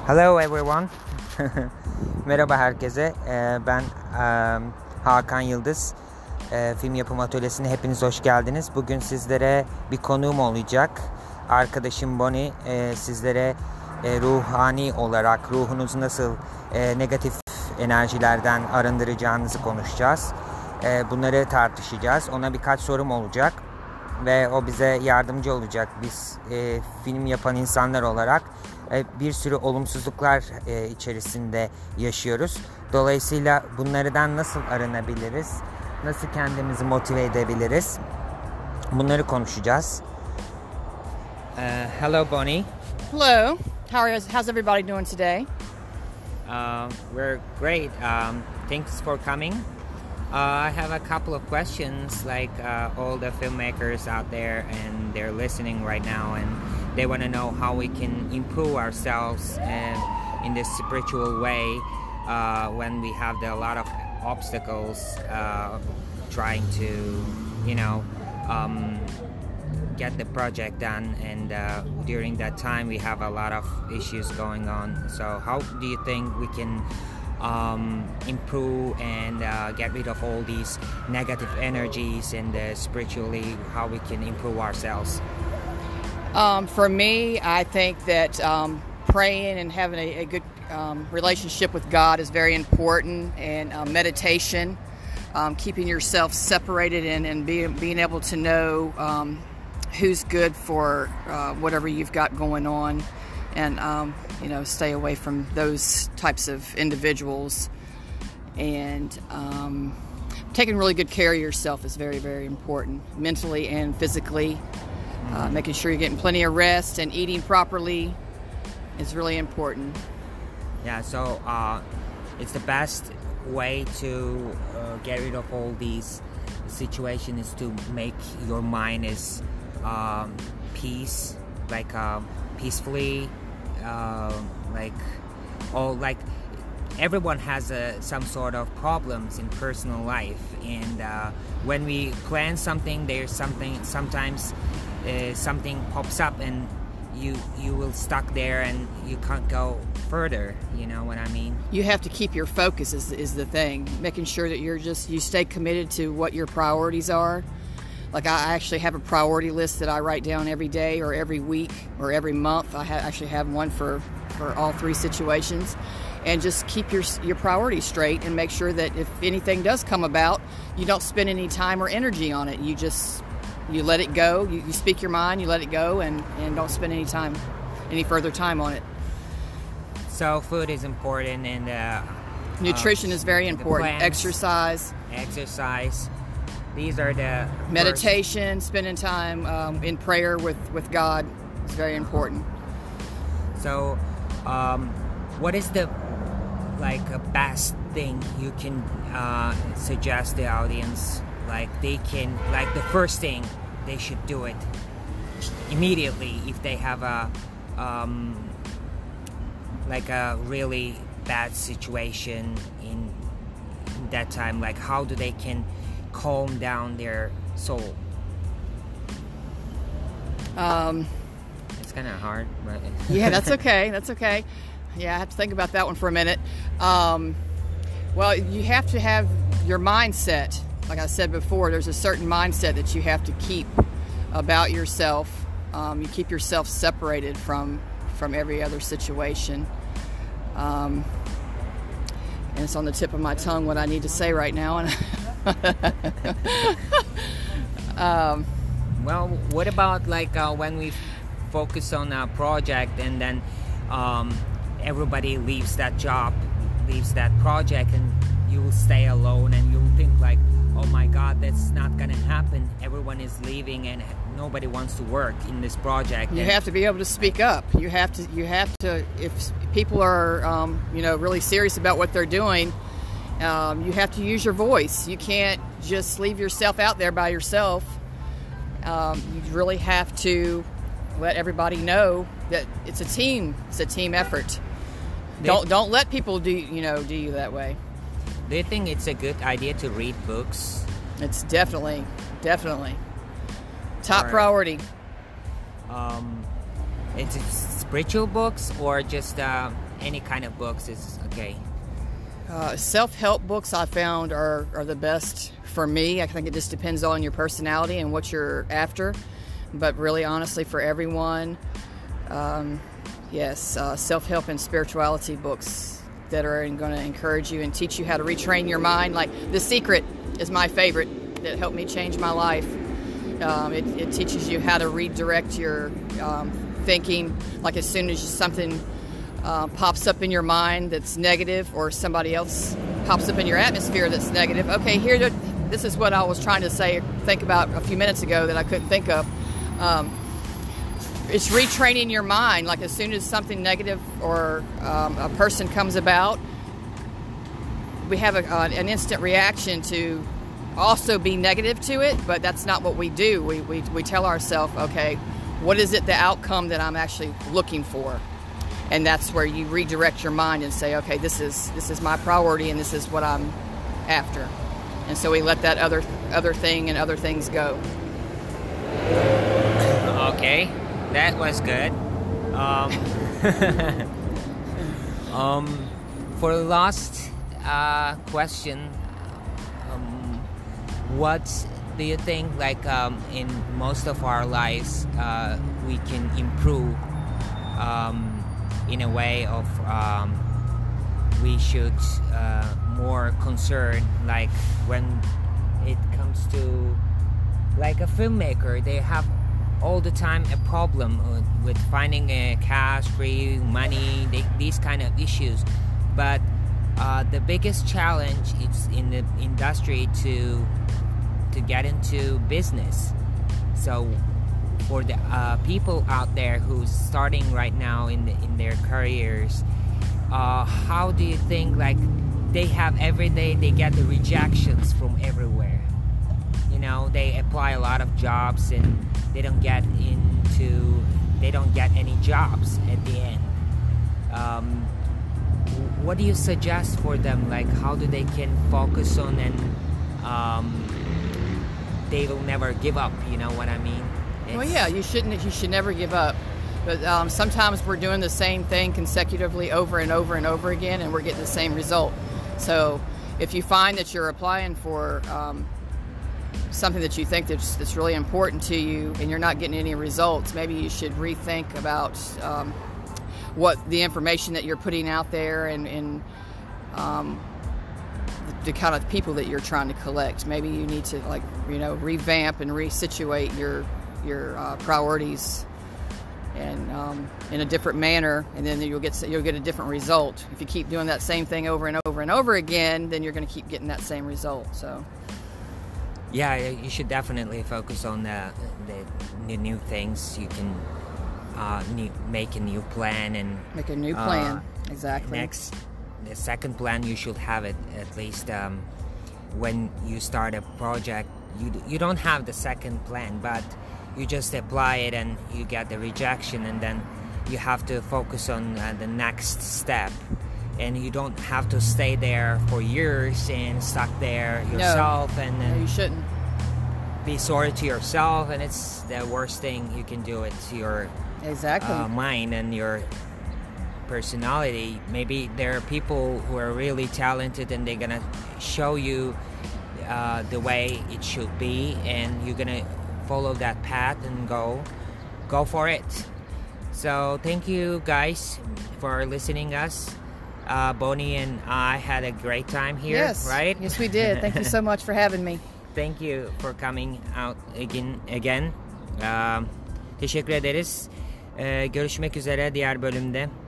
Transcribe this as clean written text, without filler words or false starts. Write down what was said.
Hello everyone. Merhaba herkese. Ben Hakan Yıldız. Film Yapım Atölyesi'ne hepiniz hoş geldiniz. Bugün sizlere bir konuğum olacak. Arkadaşım Bonnie sizlere ruhani olarak ruhunuzu nasıl negatif enerjilerden arındıracağınızı konuşacağız. Bunları tartışacağız. Ona birkaç sorum olacak ve o bize yardımcı olacak. Biz film yapan insanlar olarak bir sürü olumsuzluklar içerisinde yaşıyoruz. Dolayısıyla bunlardan nasıl arınabiliriz? Nasıl kendimizi motive edebiliriz? Bunları konuşacağız. Hello Bonnie. Hello. How's everybody doing today? We're great. Thanks for coming. I have a couple of questions, like all the filmmakers out there, and they're listening right now, and they want to know how we can improve ourselves in this spiritual way when we have a lot of obstacles trying to, get the project done, and during that time we have a lot of issues going on. So how do you think we can improve and get rid of all these negative energies, and spiritually how we can improve ourselves? For me, I think that praying and having a good relationship with God is very important, and meditation, keeping yourself separated and being able to know who's good for whatever you've got going on, and stay away from those types of individuals, and taking really good care of yourself is very, very important, mentally and physically. Making sure you're getting plenty of rest and eating properly is really important. Yeah, so it's the best way to get rid of all these situations is to make your mind is peacefully, like everyone has some sort of problems in personal life, and when we plan something, there's sometimes something pops up and you will stuck there and you can't go further. You know what I mean? You have to keep your focus is the thing, making sure that you stay committed to what your priorities are. Like I actually have a priority list that I write down every day or every week or every month. I actually have one for all three situations, and just keep your priorities straight and make sure that if anything does come about, you don't spend any time or energy on it. You let it go. You speak your mind, you let it go, and don't spend any further time on it. So food is important, and nutrition is very important. Exercise. These are the meditation, spending time in prayer with God is very important. So, what is the best thing you can suggest the audience? The first thing they should do it immediately if they have a really bad situation in that time. Like how do they can calm down their soul? It's kind of hard, but yeah, that's okay. That's okay. Yeah, I have to think about that one for a minute. Well, you have to have your mindset. Like I said before, there's a certain mindset that you have to keep about yourself. You keep yourself separated from every other situation. And it's on the tip of my tongue what I need to say right now. And well, what about when we focus on a project and then everybody leaves that job, leaves that project, and you will stay alone and you'll think like, oh my God, that's not gonna happen. Everyone is leaving and nobody wants to work in this project. You have to be able to speak up. You have to. If people are, really serious about what they're doing, you have to use your voice. You can't just leave yourself out there by yourself. You really have to let everybody know that it's a team. It's a team effort. Don't let people do you that way. Do you think it's a good idea to read books? It's definitely top priority. It's spiritual books or just any kind of books is okay. Self-help books I found are the best for me. I think it just depends on your personality and what you're after. But really, honestly, for everyone, yes, self-help and spirituality books that are going to encourage you and teach you how to retrain your mind. Like The Secret is my favorite. That helped me change my life. It teaches you how to redirect your thinking. Like as soon as something pops up in your mind that's negative, or somebody else pops up in your atmosphere that's negative. Okay, this is what I was trying to think about a few minutes ago that I couldn't think of. It's retraining your mind. Like as soon as something negative or a person comes about, we have an instant reaction to also be negative to it, but that's not what we do. We tell ourselves, okay, what is it, the outcome that I'm actually looking for? And that's where you redirect your mind and say, okay, this is my priority and this is what I'm after. And so we let that other thing and other things go. Okay, that was good. For the last question, what do you think, like in most of our lives, we can improve in a way of we should more concern, like when it comes to like a filmmaker, they have all the time a problem with finding cash, free money, these kind of issues. But the biggest challenge is in the industry to get into business. So for the people out there who's starting right now in their careers, how do you think, like, they have every day they get the rejections from everywhere? You know, they apply a lot of jobs and they don't get any jobs at the end. What do you suggest for them? Like, how do they can focus on and they will never give up? You know what I mean? Well, yeah, you should never give up. But sometimes we're doing the same thing consecutively over and over and over again, and we're getting the same result. So if you find that you're applying for something that you think that's really important to you and you're not getting any results, maybe you should rethink about what the information that you're putting out there and the kind of people that you're trying to collect. Maybe you need to, like, you know, revamp and resituate your priorities and in a different manner, and then you'll get a different result. If you keep doing that same thing over and over and over again, then you're going to keep getting that same result. So yeah, you should definitely focus on the new things. You can make a new plan and make a new plan. Exactly. The second plan, you should have it at least when you start a project. You don't have the second plan, but you just apply it and you get the rejection, and then you have to focus on the next step. And you don't have to stay there for years and stuck there yourself. And then you shouldn't be sorry to yourself, and it's the worst thing you can do. It's your mind and your personality. Maybe there are people who are really talented and they're gonna show you the way it should be, and you're gonna follow that path and go for it. So thank you guys for listening us. Bonnie and I had a great time here. Yes, right? Yes, we did. Thank you so much for having me. Thank you for coming out again. Teşekkür ederiz. Görüşmek üzere diğer bölümde.